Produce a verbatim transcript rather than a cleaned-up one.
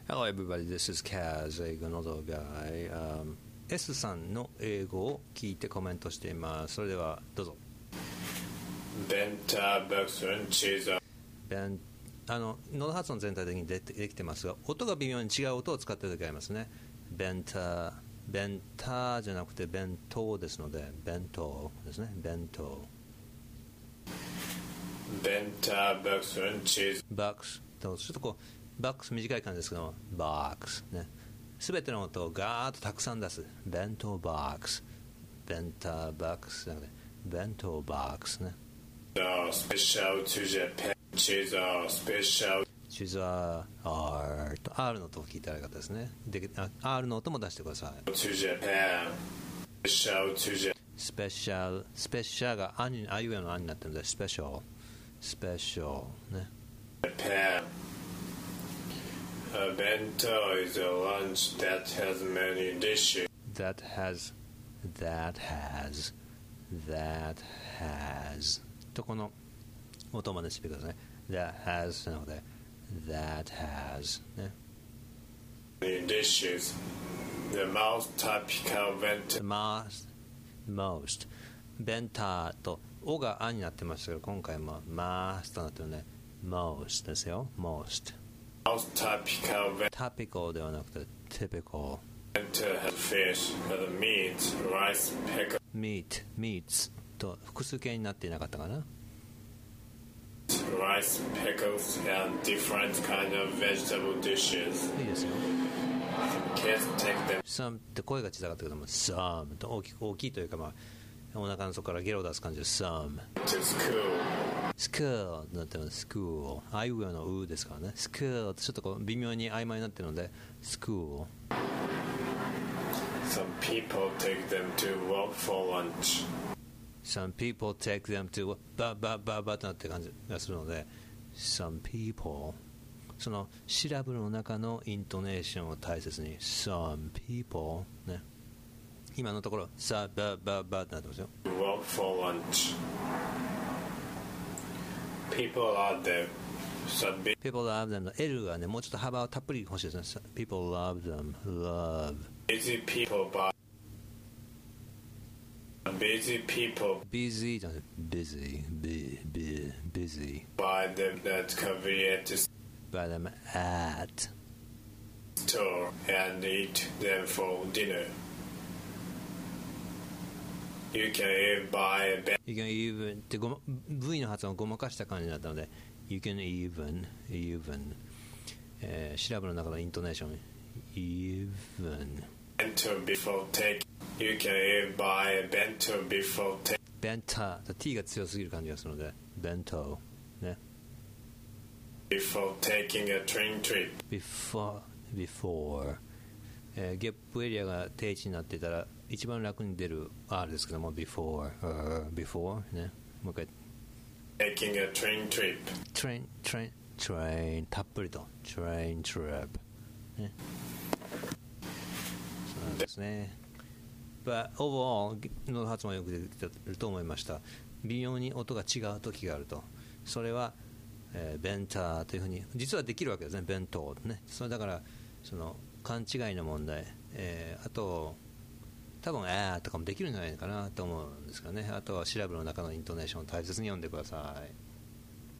Hello everybody, this is Kaz, 英語の動画、um, S さんの英語を聞いてコメントしています。それではどうぞ。 ベンターバックスンチーズベンあの喉発音全体的にでできてますが、音が微妙に違う音を使っている時ありますね。ベンターベンターじゃなくて弁当ですので、弁当ですね。弁当ベンターバックスンチーズバックスとちょっとこうバックス短い感じですけども、バックスね、すべての音をガーッとたくさん出す。弁当バックス、ベンターバックスじゃなくて弁当バックスね。 スペシャルトゥジャパンチーズスペシャルチーズは R と R の音を聞いたらよかったですね。で R の音も出してください。 トゥジャパンスペシャルトゥジャスペシャルスペシャルがあにあいうえのあになってるので、スペシャルスペシャルね。 パンA bento is a lunch that has many dishes. That has, that has, that has とこの音までしてください。That has なので That has ね。 Many dishes. The most typical bento. The most, most ベンターとおがあになってましたけど、今回もマースとなってるので most ですよ。most Most typical bento topical ではなくて typical has fish, has meat, rice, pickles, meat, meats と複数形になっていなかったかな。 rice, pickles, and different kind of vegetable dishes. いいですよ。 Kids take them some って声が小さかったけども some と大きく大きいというか、まあ、お腹の底からゲロを出す感じで some to school. school になってます。school あいうえおのうですからね。school ってちょっとこう微妙に曖昧になってるので school Some people take them to work for lunch. some people take them to ババババとなってる感じがするので some people そのシラブルの中のイントネーションを大切に some people ね。今のところさバババとなってますよ。 Work for lunch. People are there. Some big people love them の L がねもうちょっと幅をたっぷり欲しいですね。 people love them love busy people buy busy people busy じゃなくて busy b b busy buy them at convenience buy them at store and eat them for dinner. You can even buy a bag. you can even ってごま V の発音をごまかした感じになったので you can even even、えー、シラブの中のイントネーション even Bento before take. You can even buy a bento before take. ベンター T が強すぎる感じがするのでベントね。 Before taking a train trip. before before、えー、ゲップエリアが定位置になっていたら一番楽に出る R ですけども before、uh, before ね。もう一回 Taking a train trip. train train train たっぷりと train trip ね。そうなんですね。But overall の発音はよく出てると思いました。微妙に音が違う時があると、それは、えー、ベンターというふうに実はできるわけですね。弁当ね。それだからその勘違いの問題、えー、あと多分あーとかもできるんじゃないかなと思うんですかね。あとはシラブの中のイントネーションを大切に読んでください。